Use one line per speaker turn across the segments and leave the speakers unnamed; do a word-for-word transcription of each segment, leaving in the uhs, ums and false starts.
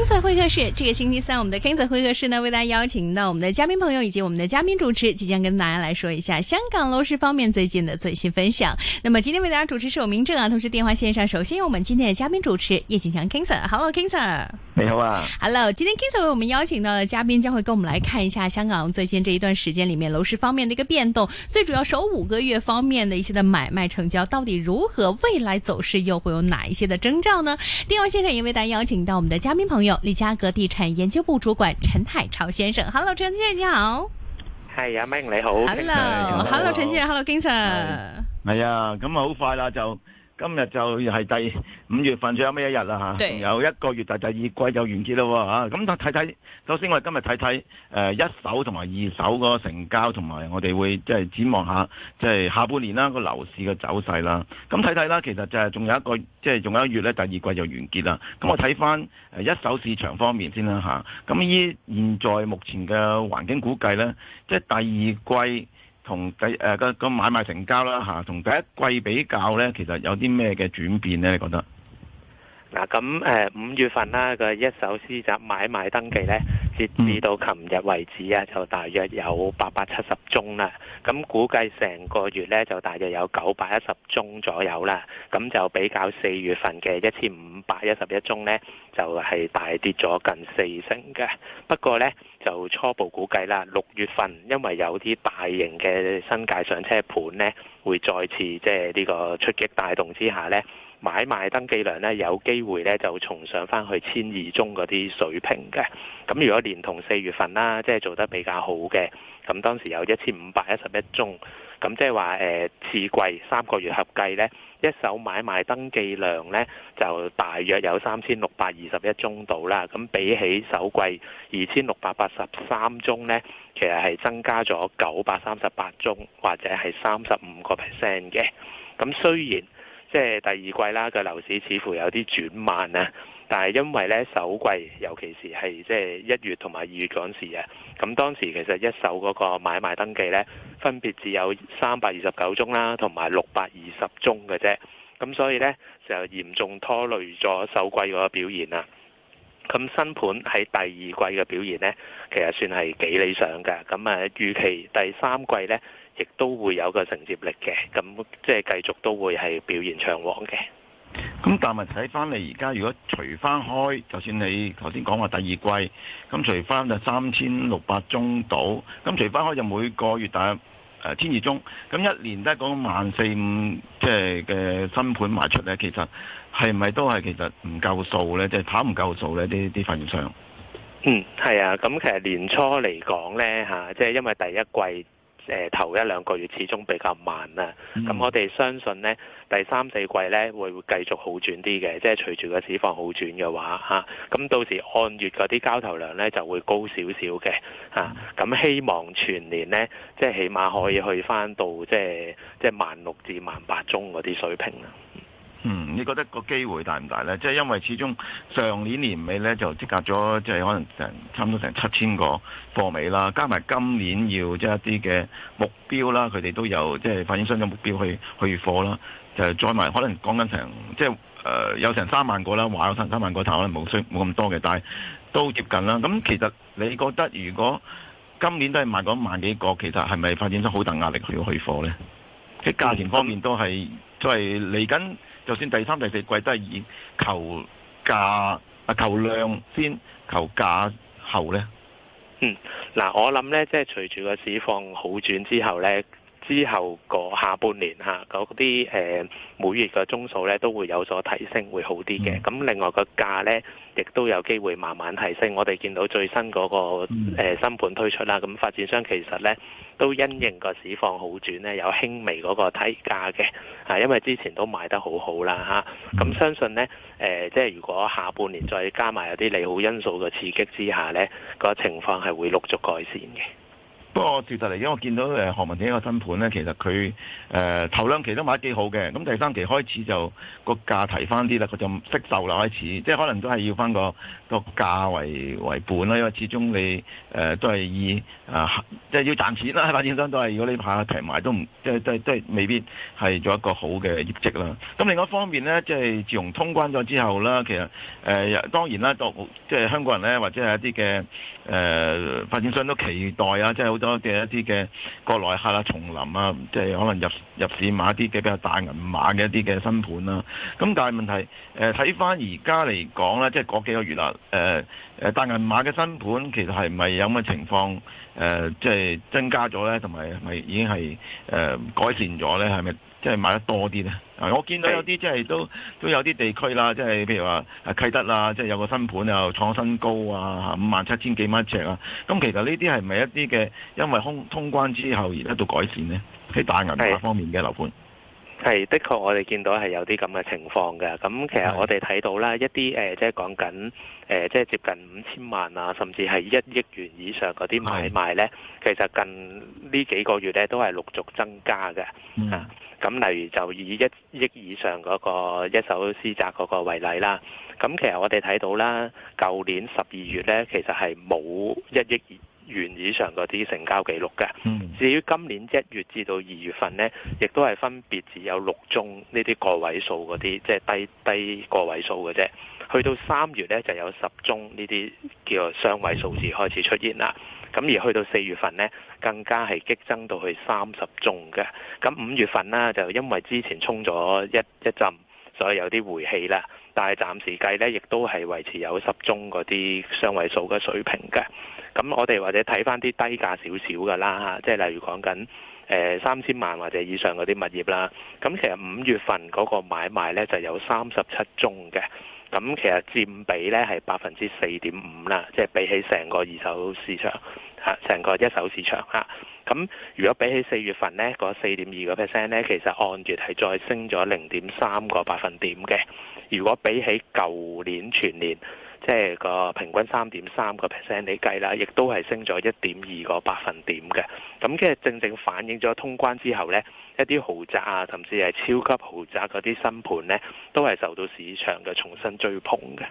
King Sir 會客室，這個星期三，我們的 King Sir 會客室呢，為大家邀請到我們的嘉賓朋友以及我們的嘉賓主持，即將跟大家來說一下香港樓市方面最近的最新分享。那麼今天為大家主持是我明正啊，同時電話線上首先有我們今天的嘉賓主持葉景強 King Sir，Hello King Sir，
你好啊
，Hello，今天 King Sir 為我們邀請到的嘉賓將會跟我們來看一下香港最近這一段時間裏面樓市方面的一個變動，最主要首五個月方面的一些的買賣成交到底如何，未來走勢又會有哪一些的徵兆呢？電話線上也為大家邀請到我們的嘉賓朋友利嘉閣地產研究部主管陳海潮先生。Hello， 陳先生你好。
係阿明你好。
Hello，Hello， 陳先生 ，Hello King Sir。
係啊，咁啊好快啦，就今日就係第五月份最後尾一日啦嚇，仲有一個月就第二季就完結啦喎嚇。咁睇睇，首先我哋今日睇睇誒一手同埋二手個成交，同埋我哋會即係展望下即係下半年啦個樓市嘅走勢啦。咁睇睇啦，其實就係仲有一個即係仲有一月咧，第二季就完結啦。咁我睇翻誒一手市場方面先啦嚇。咁依現在目前嘅環境估計咧，即係第二季。同第誒個個買賣成交啦嚇，同第一季比較咧，其實有啲咩嘅轉變咧？你覺得？
嗱咁誒五月份啦個一手私宅買賣登記咧，截至到琴日為止啊，就大約有八百七十宗啦。咁估計成個月咧就大約有九百一十宗左右啦。咁就比較四月份嘅一千五百一十一宗咧，就係大跌咗近四成嘅。不過咧就初步估計啦，六月份因為有啲大型嘅新界上車盤咧，會再次即係呢個出擊帶動之下咧，買賣登記量咧有機會咧就重上翻去千二宗嗰啲水平嘅。咁如果連同四月份啦，即係做得比較好嘅，咁當時有一千五百一十一宗，咁即係話誒次季三個月合計咧，一手買賣登記量咧就大約有三千六百二十一宗度啦。咁比起首季二千六百八十三宗咧，其實係增加咗九百三十八宗，或者係三十五個 percent 嘅。咁雖然即係第二季啦，個樓市似乎有啲轉慢啊，但係因為咧首季，尤其是係即係一月同埋二月嗰陣時啊，咁當時其實一手嗰個買賣登記咧，分別只有三百二十九宗啦，同埋六百二十宗嘅啫，咁所以咧就嚴重拖累咗首季嗰個表現啦。咁新盤喺第二季嘅表現咧，其實算係幾理想嘅。咁啊，預期第三季咧，亦都會有個承接力嘅。咁即係繼續都會係表現暢旺嘅。
咁但係睇翻你而家，如果除翻開，就算你頭先講話第二季，咁除翻就三千六百宗到，咁除翻開就每個月大約誒千二宗，咁一年都係講萬四五，即係嘅新盤賣出咧，其實係咪都係其實唔夠數咧？即係跑唔夠數咧？啲啲發展商。
嗯，係啊，咁其實年初嚟講咧嚇，即係因為第一季。誒、呃、頭一兩個月始終比較慢啦，咁、嗯、我哋相信呢，第三四季呢會會繼續好轉啲嘅，即係隨住個市況好轉嘅話嚇，咁、啊、到時按月嗰啲交投量呢就會高少少嘅嚇，咁、啊、希望全年呢，即係起碼可以去返到即係即係萬六至萬八宗嗰啲水平啦。
嗯，你覺得個機會大唔大呢？即係因為始終上年年尾呢就積壓咗，即係可能成差唔多成七千個貨尾啦，加埋今年要即係一啲嘅目標啦，佢哋都有即係發展商嘅目標去去貨啦，就再埋可能講緊成即係誒、呃、有成三萬個啦，話有成三萬個，但可能冇需冇咁多嘅，但係都接近啦。咁其實你覺得如果今年都係賣嗰萬幾個，其實係咪發展商好大壓力去去貨呢？喺價錢方面都係都係嚟緊。就算第三、第四季都係以求價啊求量先，求價後呢。
嗯，嗱，我諗呢，即係隨住個市況好轉之後呢，之後個下半年嚇嗰啲誒每月嘅宗數呢都會有所提升，會好啲嘅。咁、嗯、另外個價呢，亦都有機會慢慢提升。我哋見到最新嗰、那個誒、嗯呃、新盤推出啦，咁發展商其實呢，都因應個市況好轉咧，有輕微嗰個提價嘅，啊，因為之前都賣得好好啦嚇，咁、啊、相信咧，誒、呃，即係如果下半年再加埋有啲利好因素嘅刺激之下咧，個情況係會陸續改善嘅。
不過事實嚟講，我見到誒何文田一個新盤咧，其實佢誒、呃、頭兩期都賣得幾好嘅，咁第三期開始就個價提翻啲啦，佢就識售啦開始，即係可能都係要翻個個價為為本啦，因為始終你誒、呃、都係以啊即係要賺錢啦，發展商都係，如果你下提埋都唔即係即係即係未必係做一個好嘅業績啦。咁另外一方面咧，即係自從通關咗之後啦，其實誒、呃、當然啦，都即係香港人咧，或者係一啲嘅誒發展商都期待啊，即係好多嘅一啲嘅國內客啦、重臨啊，即係可能入入市買一啲嘅比較大銀碼嘅一啲嘅新盤啦。咁但係問題誒睇翻而家嚟講咧，即係嗰幾個月啦，誒誒大銀碼嘅新盤其實係咪有咁嘅情況誒，即係增加咗咧，同埋係咪已經係誒改善咗咧？係咪即係買得多啲咧？啊，我見到有啲即係都都有啲地區啦，即係譬如話啟德啦，即係有個新盤又創新高啊，五萬七千幾蚊一尺啊。咁其實呢啲係咪一啲嘅因為通通關之後而得到改善呢？喺大銀碼方面嘅樓盤
係的確，我哋見到係有啲咁嘅情況嘅。咁其實我哋睇到啦，一啲誒、呃、即係講緊誒即係接近五千萬啊，甚至係一億元以上嗰啲買賣咧，其實近呢幾個月咧都係陸續增加嘅。嗯、啊，咁例如就以一億以上嗰個一手私宅嗰個為例啦。咁其實我哋睇到啦，舊年十二月咧，其實係冇一億元以上嗰啲成交記錄嘅。嗯、至於今年一月至到二月份呢，亦都係分別只有六宗呢啲個位數嗰啲，即係低低個位數嘅啫。去到三月呢，就有十宗呢啲叫做雙位數字開始出現啦。咁而去到四月份呢，更加係激增到去三十宗嘅。咁五月份呢，就因為之前衝咗一一陣，所以有啲回氣啦。但係暫時計呢，亦都係維持有十宗嗰啲雙位數嘅水平嘅。咁我哋或者睇翻啲低價少少嘅啦嚇，即係例如講緊誒三千萬或者以上嗰啲物業啦。咁其實五月份嗰個買賣呢就有三十七宗嘅，咁其實佔比呢係百分之四點五啦，即係比起成個二手市場嚇，成個一手市場嚇。咁如果比起四月份呢嗰四點二個 percent 呢，其實按月係再升咗零點三個百分點嘅。如果比起舊年全年，即係個平均三點三個 percent 你計啦，亦都係升咗一點二個百分點嘅。咁即係正正反映咗通關之後呢，一啲豪宅啊，甚至係超級豪宅嗰啲新盤呢，都係受到市場嘅重新追捧嘅。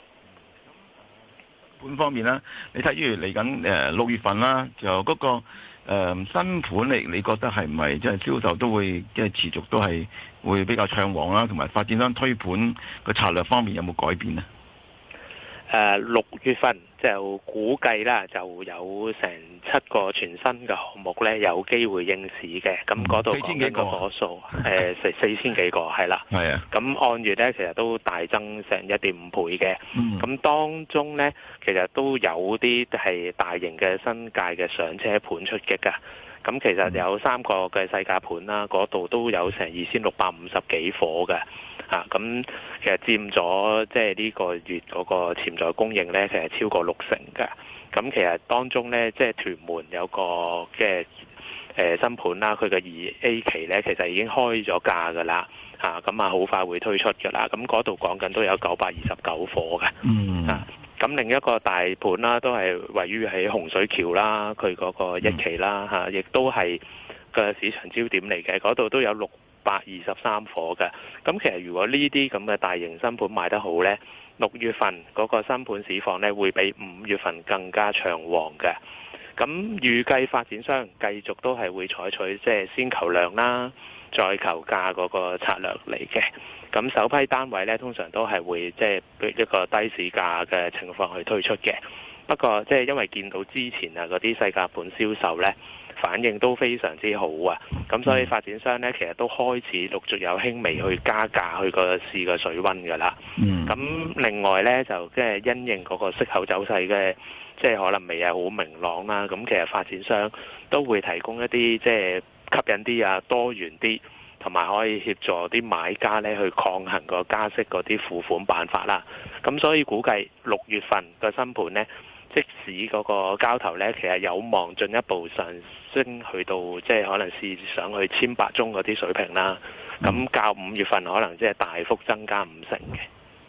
盤方面啦，你睇住嚟緊誒六月份啦，就嗰、那個、呃、新盤嚟，你覺得係唔係即係銷售都會即係持續都係會比較暢旺啦？同埋發展商推盤個策略方面有冇改變呢？
誒六、呃、月份就估計啦，就有成七個全新嘅項目咧，有機會應市嘅。咁嗰度講緊個火數，誒四四千幾個係啦。係啊。咁按月咧，其實都大增成一點五倍嘅。咁、嗯、當中咧，其實都有啲係大型嘅新界嘅上車盤出擊㗎。咁其實有三個嘅細價盤啦，嗰度都有成二千六百五十幾伙嘅。啊，咁其實佔咗即係呢個月嗰個潛在供應咧，其實超過六成嘅。咁其實當中咧，即係屯門有個嘅誒新盤啦，佢嘅二 A 期咧，其實已經開咗價㗎啦。嚇，咁啊好快會推出㗎啦。咁嗰度講緊都有九百二十九伙嘅。嗯。啊，咁另一個大盤啦，都係位於喺洪水橋啦，佢嗰個一期啦嚇，亦都係個市場焦點嚟嘅。嗰度都有六百二十三伙嘅，咁其實如果呢啲咁嘅大型新盤賣得好呢，六月份嗰個新盤市況呢會比五月份更加暢旺嘅。咁預計發展商繼續都係會採取即係先求量啦，再求價嗰個策略嚟嘅。咁首批單位呢，通常都係會即係一個低市價嘅情況去推出嘅。不過即係因為見到之前啊嗰啲細價盤銷售呢，反應都非常之好啊，咁所以發展商呢，其實都開始陸續有輕微去加價去個試個水溫㗎啦。咁、嗯、另外呢，就即係因應嗰個息口走勢嘅，即係可能未係好明朗啦。咁其實發展商都會提供一啲即係吸引啲啊、多元啲，同埋可以協助啲買家呢去抗衡個加息嗰啲付款辦法啦。咁所以估計六月份個新盤呢，即使嗰個交投呢，其實有望進一步上升去到即係可能試上去千八宗嗰啲水平啦。咁較五月份可能即係大幅增加五成嘅。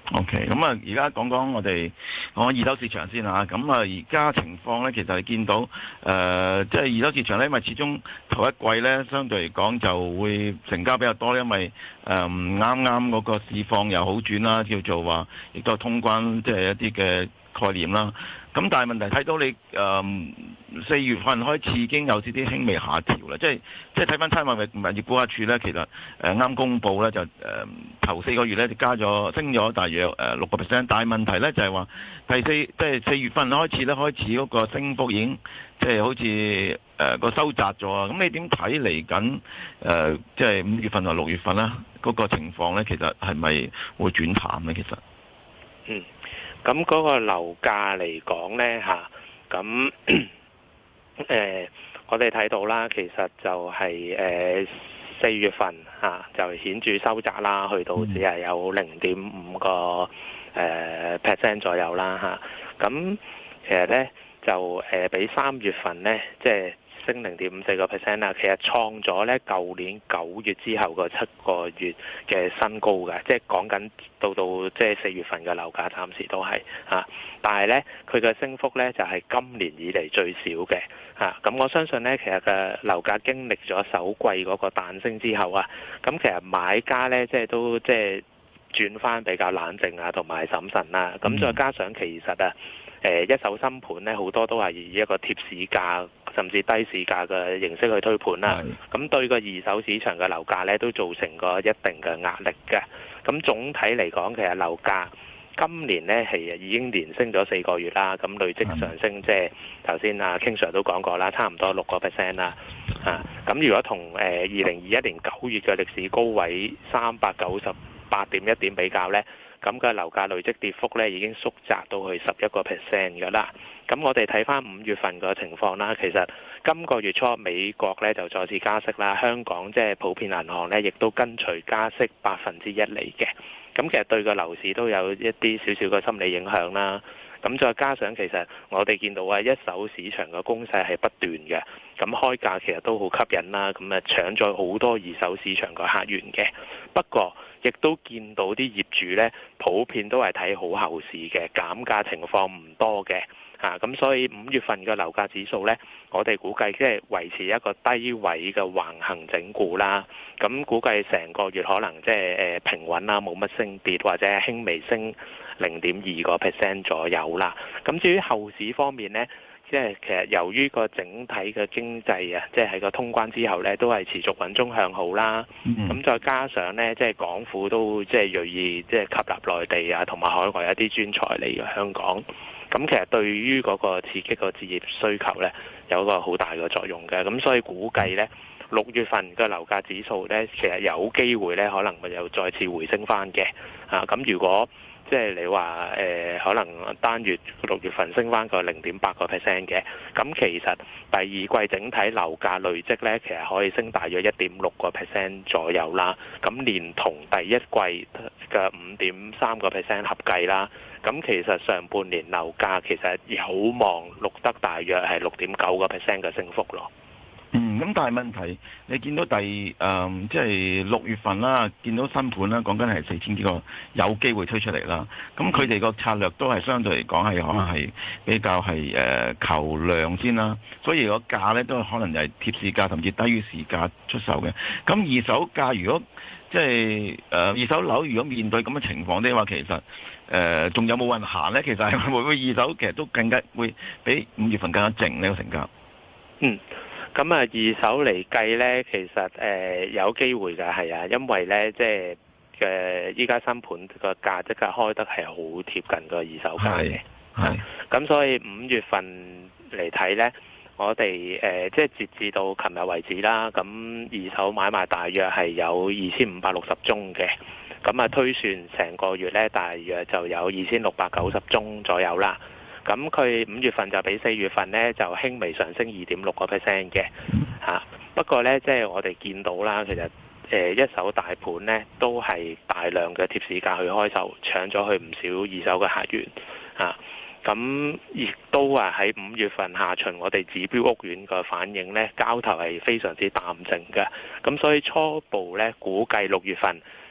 OK，咁啊，而家講講我哋講二手市場先嚇。咁啊，而家情況咧，其實你見到誒，即、呃、係、就是、二手市場咧，因為始終頭一季咧，相對嚟講就會成交比較多，因為誒啱啱嗰個市況又好轉啦，叫做話亦都係通關，即、就、係、是、一啲嘅概念啦。咁但係問題睇到你誒四、呃、月份開始已經有啲啲輕微下調啦，即係即係睇翻差餉物業估價署咧，其實誒啱、呃、公佈咧就誒、呃、頭四個月咧就加咗升咗大約誒六個 percent， 但係問題咧就係、是、話第四即係四月份開始咧開始嗰個升幅已經即係好似誒個收窄咗啊！咁你點睇嚟緊誒即係五月份同六月份啦嗰、那個情況咧，其實係咪會轉淡咧？其實
嗯。咁嗰個樓價嚟講呢，嚇，咁誒我哋睇到啦，其實就係誒四月份嚇、啊、就顯著收窄啦，去到只係有零點五個誒 percent 左右啦嚇。咁、啊、其實呢，就誒、呃、比三月份呢，即係升零點五四個 percent 啦，其實創咗咧舊年九月之後個七個月嘅新高嘅，即係講緊到到即係四月份嘅樓價，暫時都係嚇，但係咧佢嘅升幅咧就係今年以嚟最少嘅嚇。咁我相信咧，其實嘅樓價經歷咗首季嗰個彈升之後啊，咁其實買家咧即係都即係轉翻比較冷靜啊，同埋審慎啦。咁再加上其實啊，誒一手新盤咧好多都係以一個貼市價，甚至低市價嘅形式去推盤啦，咁對個二手市場嘅樓價咧都造成個一定嘅壓力嘅。咁總體嚟講，其實樓價今年咧係已經連升咗四個月啦，咁累積上升，即係頭先啊 King Sir 都講過啦，差唔多六個 percent 啦。啊，咁如果同誒二零二一年九月嘅歷史高位三百九十八點一點比較咧，咁嘅樓價累積跌幅咧已經縮窄到去十一個 percent 嘅啦。咁我哋睇翻五月份個情況啦，其實今個月初美國咧就再次加息啦，香港即係普遍銀行咧亦都跟隨加息百分之一厘嘅。咁其實對個樓市都有一啲少少嘅心理影響啦。咁再加上其實我哋見到啊，一手市場嘅攻勢係不斷嘅，咁開價其實都好吸引啦，咁啊搶咗好多二手市場嘅客源嘅。不過亦都見到啲業主咧普遍都係睇好後市嘅，減價情況唔多嘅。啊，咁所以五月份嘅樓價指數呢，我哋估計即係維持一個低位嘅橫行整固啦。咁估計成個月可能即係誒平穩啦，冇乜升跌或者輕微升零點二個 percent 左右啦。咁至於後市方面呢，即係其實由於個整體嘅經濟啊，即係喺個通關之後呢，都係持續穩中向好啦。咁、嗯、再加上呢，即係港府都即係銳意即係吸納內地啊，同埋海外一啲專才嚟嘅香港。咁其實對於嗰個刺激個置業需求呢，有一個好大嘅作用嘅。咁所以估計呢，六月份嘅樓價指數呢，其實有機會呢，可能會又再次回升翻嘅。啊，咁如果即係你話誒、呃，可能單月六月份升翻個零點八個 percent 嘅，咁其實第二季整體樓價累積呢，其實可以升大約一點六個 percent 左右啦。咁連同第一季嘅五點三個 percent 合計啦。咁其實上半年樓價其實有望錄得大約係六點九個 percent 嘅升幅咯。
嗯，咁但係問題，你見到第誒即係六月份啦，見到新盤啦，講緊係四千幾個有機會推出嚟啦。咁佢哋個策略都係相對嚟講係可能係比較係誒、呃、求量先啦。所以個價咧都可能係貼市價甚至低於市價出售嘅。咁二手價如果即係誒二手樓如果面對咁嘅情況的話，其實誒仲、呃、有冇人行咧？其實係會唔會二手其實都更加會比五月份更加靜呢個成交？
嗯。咁啊，二手嚟計咧，其實誒、呃、有機會㗎，係啊，因為咧即係嘅依家新盤個價即刻開得係好貼近個二手價嘅，係。咁所以五月份嚟睇咧，我哋誒、呃、即係截至到琴日為止啦，咁二手買賣大約係有二千五百六十宗嘅，咁啊推算成個月咧，大約就有二千六百九十宗左右啦。咁佢五月份就比四月份呢就輕微上升二點六個 percent 嘅嚇。不過呢，即係我哋見到啦，其實誒一手大盤呢都係大量嘅貼市價去開售，搶咗去唔少二手嘅客源嚇。咁亦都話喺五月份下旬，我哋指標屋苑嘅反應呢，交投係非常之淡靜嘅。咁所以初步呢，估計六月份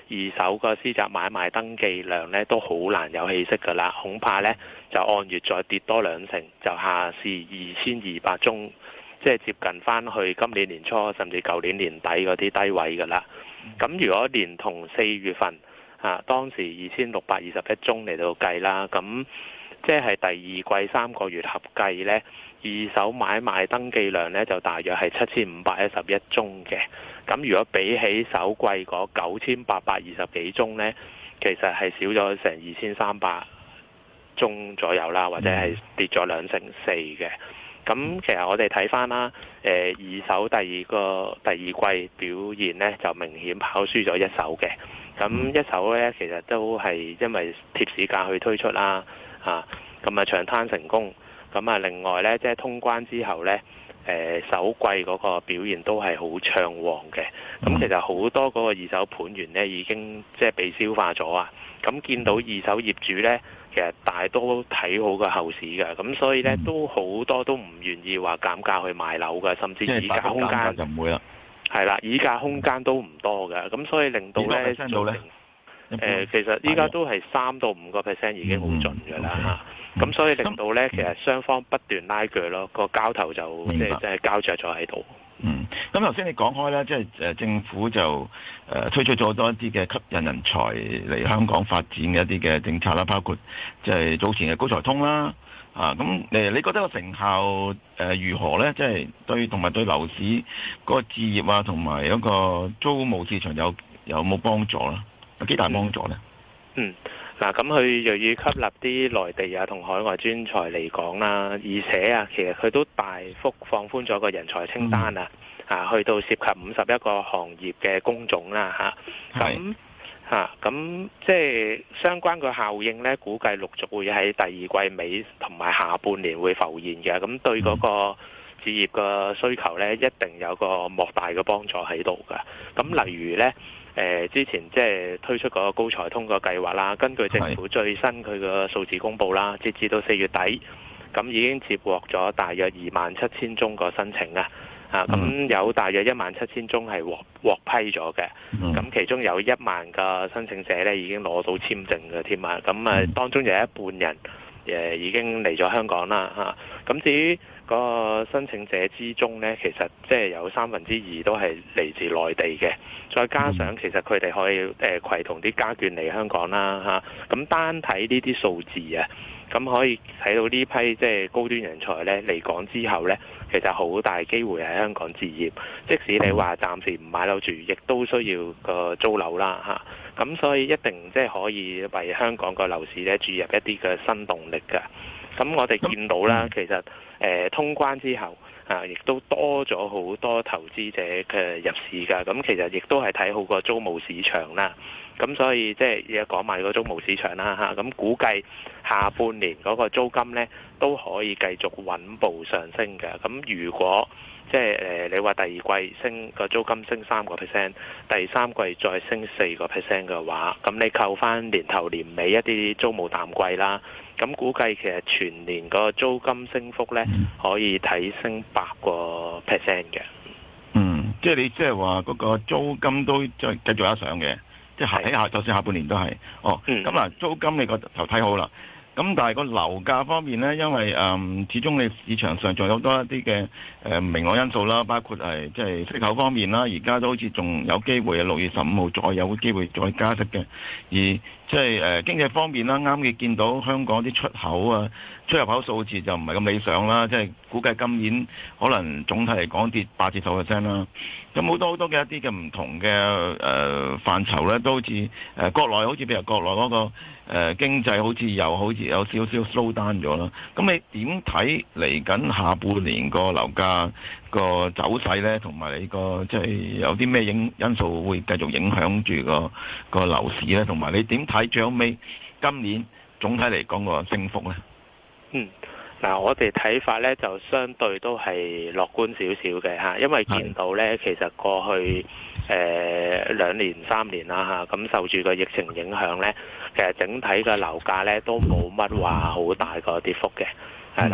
二手個私宅買賣登記量咧都好難有起色㗎啦，恐怕咧就按月再跌多兩成，就下試二千二百宗，即係接近翻去今年年初甚至舊年年底嗰啲低位㗎啦。咁如果連同四月份啊，當時二千六百二十一宗嚟到計啦，咁即係第二季三個月合計呢，二手買賣登記量呢就大約係七千五百一十一宗嘅。咁如果比起首季嗰九千八百二十幾宗呢，其實係少咗成二千三百宗左右啦，或者係跌咗兩成四嘅。咁其實我哋睇翻啦，誒二手第二個第二季表現呢，就明顯跑輸咗一手嘅。咁一手呢，其實都係因為貼市價去推出啦，啊咁啊長灘成功。咁啊另外呢，即係通關之後呢，誒首季嗰個表現都係好暢旺嘅。咁其實好多嗰個二手盤源呢，已經即係被消化咗啊。咁見到二手業主呢，其實大多睇好個後市嘅，咁所以咧、嗯、都好多都唔願意話減價去賣樓嘅，甚至議價空間
就唔會啦。
係啦，議價空間都唔多嘅，咁所以令到咧
做成
誒，其實依家都係三到五個 percent 已經好盡㗎啦嚇。咁、嗯、所以令到咧，嗯、其實雙方不斷拉鋸咯，個交投就即係即係膠着咗喺度。
嗯，咁頭先你講開咧，即係誒政府就誒、呃、推出咗多一啲嘅吸引人才嚟香港發展嘅一啲嘅政策啦，包括即係早前嘅高才通啦，啊咁誒，你覺得個成效誒、呃、如何咧？即係對同埋對樓市嗰個置業啊，同埋嗰個租務市場有有冇幫助啦？有幾大幫助咧？
嗯。嗱，咁佢又要吸納啲內地啊同海外專才嚟講啦，而且啊，其實佢都大幅放寬咗個人才清單啊，啊，去到涉及五十一個行業嘅工種啦，嚇，咁嚇，咁即係相關個效應咧，估計陸續會喺第二季尾同埋下半年會浮現嘅，咁對嗰個置業嘅需求咧，一定有個莫大嘅幫助喺度㗎。咁例如咧。誒之前即係推出嗰個高才通個計劃啦，根據政府最新佢個數字公佈啦，截至到四月底，咁已經接獲咗大約二萬七千宗個申請啊，啊咁有大約一萬七千宗係獲獲批咗嘅，咁其中有一萬個申請者咧已經攞到簽證嘅添啊，咁啊當中有一半人誒已經嚟咗香港啦嚇，咁至於個申請者之中呢，其實即係有三分之二都係嚟自內地嘅，再加上其實佢哋可以誒攜同啲家眷嚟香港啦嚇，咁單睇呢啲數字啊，咁可以睇到呢批即係高端人才呢嚟港之後呢，其實好大機會喺香港置業，即使你話暫時唔買樓住，亦都需要個租樓啦嚇，咁所以一定即係可以為香港個樓市呢注入一啲嘅新動力㗎。咁我哋見到啦，其實誒、呃、通關之後啊，亦都多咗好多投資者嘅入市㗎。咁其實亦都係睇好個租務市場啦。咁所以即係而家講埋個租務市場啦嚇。咁估計下半年嗰個租金呢都可以繼續穩步上升嘅。咁如果即係誒你話第二季升個租金升三個 percent，第三季再升四個 percent 嘅話，咁你扣翻年頭年尾一啲租務淡季啦。咁估計其實全年個租金升幅咧，可以睇升八個 percent 嘅。嗯，
即係你即係話嗰個租金都再繼續有得上嘅，即係喺下就算下半年都係。哦，咁嗱、嗯，租金你個就睇好啦。咁但係個樓價方面咧，因為誒、嗯、始終你市場上仲有好多一啲嘅誒唔明朗因素啦，包括係即係息口方面啦，而家都好似仲有機會啊，六月十五號再有機會再加息嘅。而即係誒經濟方面啦，啱嘅見到香港啲出口啊，出入口數字就唔係咁理想啦，即係估計今年可能總體嚟講跌八至十 percent 啦。咁好多好多嘅一啲嘅唔同嘅誒、呃、範疇咧，都好似誒、呃、國內好似譬如國內嗰、那個誒、呃、經濟好似又好似有少少 slow down 咗啦。咁你點睇嚟緊下半年個樓價個走勢咧，同埋你個即係有啲咩因因素會繼續影響住個個樓市咧？同埋你點睇最後尾今年總體嚟講個升幅咧？
嗯。嗱，我哋睇法咧就相對都係樂觀少少嘅嚇，因為見到咧其實過去誒、呃、兩年三年啦嚇，咁受住個疫情影響咧，其實整體嘅樓價咧都冇乜話好大個跌幅嘅，係啦。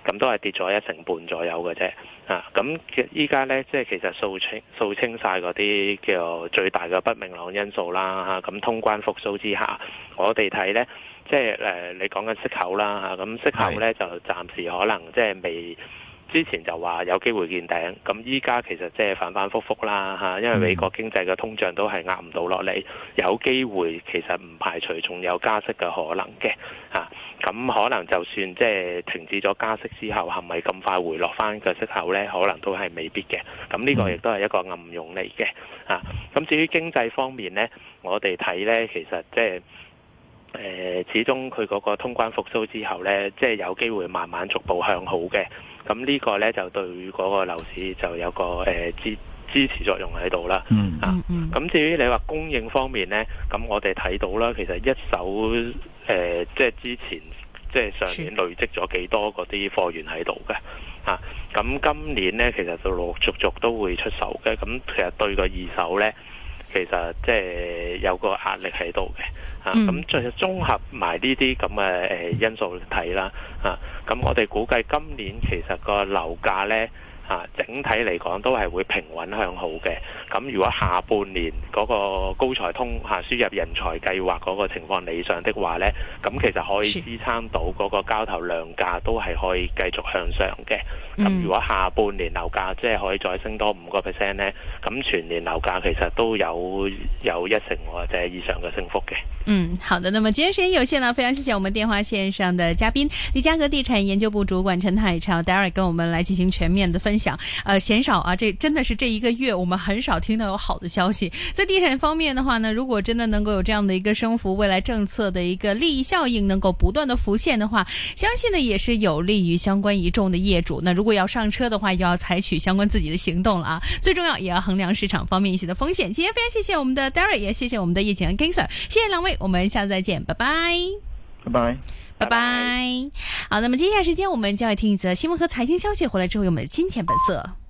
咁都係跌咗一成半左右嘅啫。啊，咁依家咧即係其實掃清掃清晒嗰啲叫做最大嘅不明朗因素啦嚇。咁、啊、通關復甦之下，我哋睇咧即係誒、呃、你講緊息口啦嚇，咁、啊、息口咧就暫時可能即係未。之前就話有機會見頂，咁依家其實即係反反覆覆啦嚇，因為美國經濟嘅通脹都係壓唔到落嚟，有機會其實唔排除仲有加息嘅可能嘅嚇，咁、啊、可能就算即係停止咗加息之後，係咪咁快回落翻個息口呢？可能都係未必嘅，咁呢個亦都係一個暗湧嚟嘅嚇。咁、啊、至於經濟方面呢，我哋睇呢其實即係。誒、呃，始終佢嗰個通關復甦之後呢，即係有機會慢慢逐步向好嘅。咁呢個呢，就對嗰個樓市就有個誒、呃、支支持作用喺度啦。嗯啊，咁至於你話供應方面呢，咁我哋睇到啦，其實一手誒、呃，即係之前即係上年累積咗幾多嗰啲貨源喺度嘅。啊，咁今年呢，其實就陸陸續續都會出手嘅。咁其實對個二手呢，其實即係有個壓力喺度嘅。啊，咁再綜合埋呢啲咁嘅誒因素睇啦，啊，咁我哋估計今年其實個樓價呢，啊，整體嚟講都係會平穩向好嘅。咁如果下半年嗰個高才通嚇輸入人才計劃嗰個情況理想的話呢，咁其實可以支撐到嗰個交投量價都係可以繼續向上嘅。咁如果下半年樓價即係可以再升多五個 percent 呢，咁全年樓價其實都有有一成或者以上嘅升幅嘅。
嗯，好的。那麼今天時間有限呢，非常謝謝我們電話線上的嘉賓利嘉閣地產研究部主管陳海潮 Derek 跟我們來進行全面的分享。呃，鮮少啊，這真的是這一個月我們很少聽到有好的消息。在地產方面的話呢，如果真的能夠有這樣的一個升幅，未來政策的一個利益效應能夠不斷的浮現的話，相信呢也是有利於相關一眾的業主。那如果要上車的話，又要採取相關自己的行動了啊。最重要也要衡量市場方面一些的風險。今天非常謝謝我們的 Derek，也謝謝我們的葉景安 King Sir，謝謝兩位，我們下次再見，拜拜，
拜拜，
拜拜。好，那麼接下來時間我們就要聽一則新聞和財經消息，回來之後有我們的金錢本色。